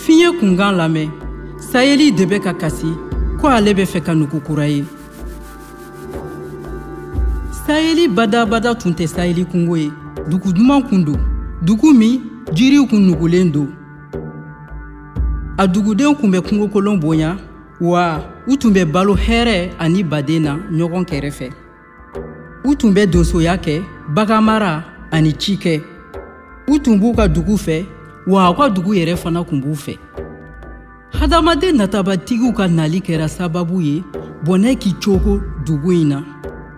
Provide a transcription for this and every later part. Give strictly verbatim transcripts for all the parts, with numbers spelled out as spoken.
Fiɲɛ kunkan lamɛn, Saheli de bɛ ka kasi ko ale bɛ fɛ ka nugu kura ye. Saheli badabada tun tɛ Saheli kungo ye, dugu duman kun don, dugu min jiriw kun nugulen don. A dugudenw kun bɛ kungo kolon bonya, wa u tun bɛ balo hɛrɛ ani baden na ɲɔgɔn kɛrɛfɛ. U tun bɛ donsoya kɛ, baganmara ani ci kɛ. U tun b'u ka dugu fɛ, wa u ka dugu yɛrɛ fana kun b'u fɛ. Hadamaden natabatigiw ka nali kɛra sababu ye bɔnɛ k'i cogo dugu in na.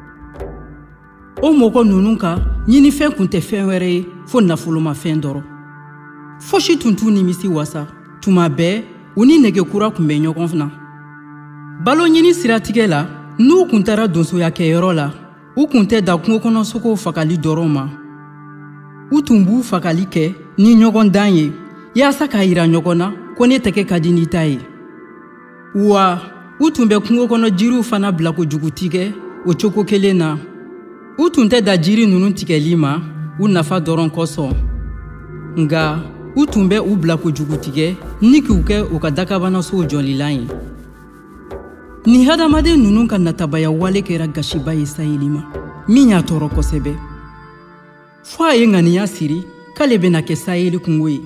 O mɔgɔ ninnu ka ɲinifɛn kun tɛ fɛn wɛrɛ ye fo nafolomafɛn dɔrɔn. Fosi tun t'u nimisi wasa, tuma bɛɛ u ni nɛgɛkura kun bɛ ɲɔgɔn na. Balo ɲini siratigɛ la, n'u kun taara donsoya kɛyɔrɔ la, u kun tɛ da kungo kɔnɔ sogow fagali dɔrɔn ma. U tun b'u fagali kɛ ni ɲɔgɔn dan ye, yaasa k'a yira ɲɔgɔn na ko ne tɛgɛ ka di ni ta ye. Wa u tun bɛ kungo kɔnɔ jiriw fana bila kojugu tigɛ o cogo kelen na. U tun tɛ da jiri ninnu tigɛli ma u nafa dɔrɔn kosɔn. Nga u tun bɛ u bila kojugu tigɛ ni k'u kɛ u ka dakabanasow jɔlilan ye. Ni hadamaden ninnu ka natabaya wale kɛra gasiba ye Saheli ma, min y'a tɔɔrɔ kosɛbɛ. Fo a ye ŋaniya siri k'ale bɛna kɛ Saheli kungo ye.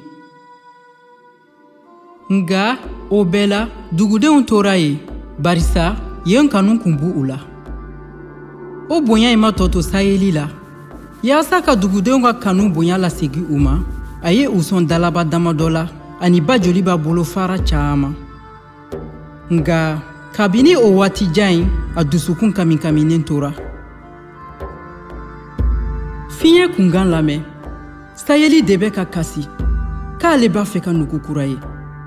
Nga o bɛɛ la dugudenw tora ye, barisa yen kanu kun b'u u la. O bonya in ma tɔ to Saheli la. Yaasa ka dugudenw ka kanu bonya lasegi u ma, a ye u sɔn dalaba damadɔ la ani ba joli b'a bolo fara caaman. Nga kabini o waati jan in, a dusukun kami kaminen tora. Fiɲɛ kunkan lamɛn, Saheli de bɛ ka kasi k'ale b'a fɛ ka nugu kura ye.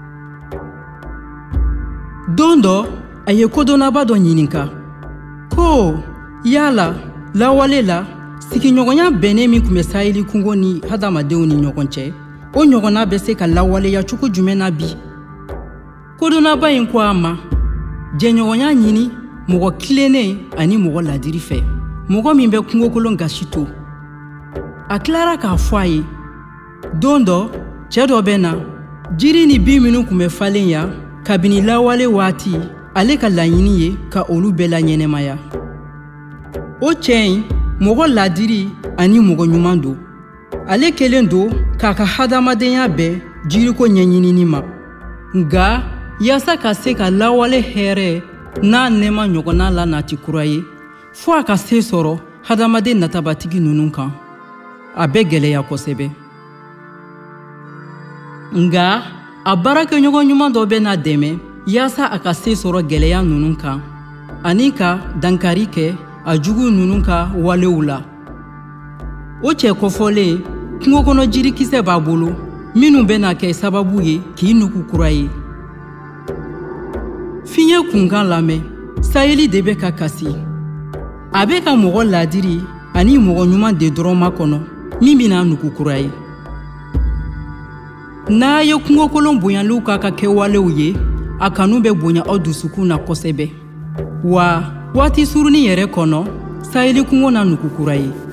Don dɔ, a ye kodɔnnaba dɔ ɲininka ko yala lawale la sigiɲɔgɔnya bɛnnen min kun bɛ Saheli kungo ni hadamadenw ni ɲɔgɔn cɛ, o ɲɔgɔnna bɛ se ka lawaleya cogo jumɛn na bi? Kodɔnnaba in ko a ma, jɛɲɔgɔnya ɲini mɔgɔ tilennen ani mɔgɔ ladiri fɛ, mɔgɔ min bɛ kungo kolon gasi to. A tilara k'a fɔ a ye, don dɔ cɛ dɔ bɛ na, jiri ni bin minnu kun bɛ falen ya kabini lawale waati, ale ka laɲini ye ka olu bɛɛ la ɲɛnɛmaya. O cɛ in mɔgɔ ladiri ani mɔgɔ ɲuman don. Ale kelen don k'a ka hadamadenya bɛɛ jiriko ɲɛɲinini ma. Nga yaasa ka se ka lawale hɛrɛ n'a nɛɛma ɲɔgɔnna la nati kura ye, fo a ka se sɔrɔ hadamaden natabatigi ninnu kan, a bɛ gɛlɛya kosɛbɛ. Nga a baarakɛɲɔgɔn ɲuman dɔ bɛ na dɛmɛ yaasa a ka se sɔrɔ gɛlɛya ninnu kan, ani ka dankari kɛ a jugu ninnu ka walew la. O cɛ kɔfɔlen, kungo kɔnɔ jirikisɛ b'a bolo minnu bɛna kɛ sababu ye k'i nugu kura ye. Fiɲɛ kunkan lamɛn, Saheli de bɛ ka kasi. A bɛ ka mɔgɔ ladiri ani mɔgɔ ɲuman de dɔrɔn makɔnɔ min bɛna nugu kura ye. N'a ye kungo kolon bonyaliw ka ka kɛwalew ye, a kanu bɛ bonya aw dusukun na kosɛbɛ. Wa waati surunin yɛrɛ kɔnɔ, Saheli kungo na nugu kura ye.